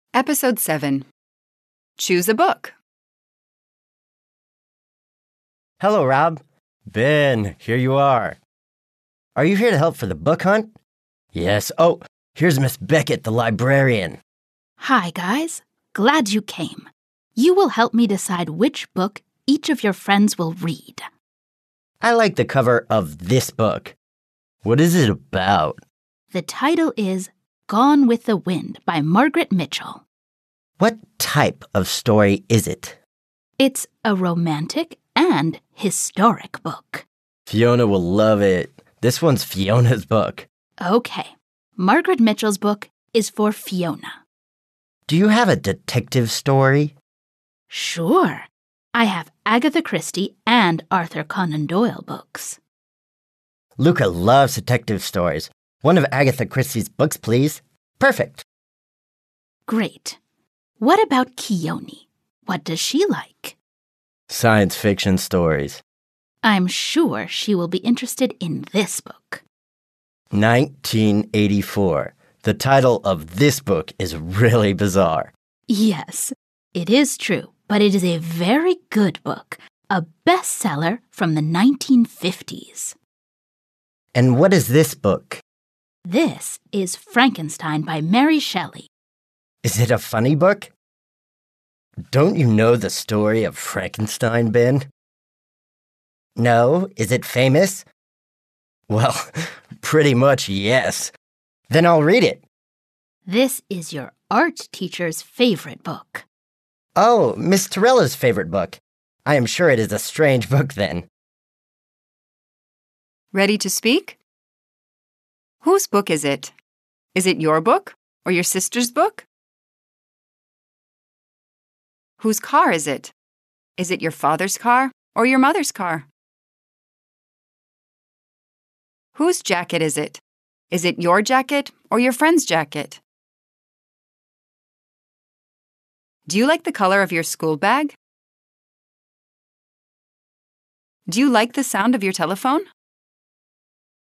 Episode 7. Choose a book. Hello, Rob. Ben, here you are. Are you here to help for the book hunt? Yes. Oh, here's Miss Beckett, the librarian. Hi, guys. Glad you came. You will help me decide which book each of your friends will read. I like the cover of this book. What is it about? The title is Gone with the Wind by Margaret Mitchell. What type of story is it? It's a romantic and historic book. Fiona will love it. This one's Fiona's book. Okay, Margaret Mitchell's book is for Fiona. Do you have a detective story? Sure. I have Agatha Christie and Arthur Conan Doyle books. Luca loves detective stories. One of Agatha Christie's books, please. Perfect. Great. What about Keone? What does she like? Science fiction stories. I'm sure she will be interested in this book. 1984. The title of this book is really bizarre. Yes, it is true, but it is a very good book, a bestseller from the 1950s. And what is this book? This is Frankenstein by Mary Shelley. Is it a funny book? Don't you know the story of Frankenstein, Ben? No? Is it famous? Well, pretty much yes. Then I'll read it. This is your art teacher's favorite book. Oh, Miss Torella's favorite book. I am sure it is a strange book then. Ready to speak? Whose book is it? Is it your book or your sister's book? Whose car is it? Is it your father's car or your mother's car? Whose jacket is it? Is it your jacket or your friend's jacket? Do you like the color of your school bag? Do you like the sound of your telephone?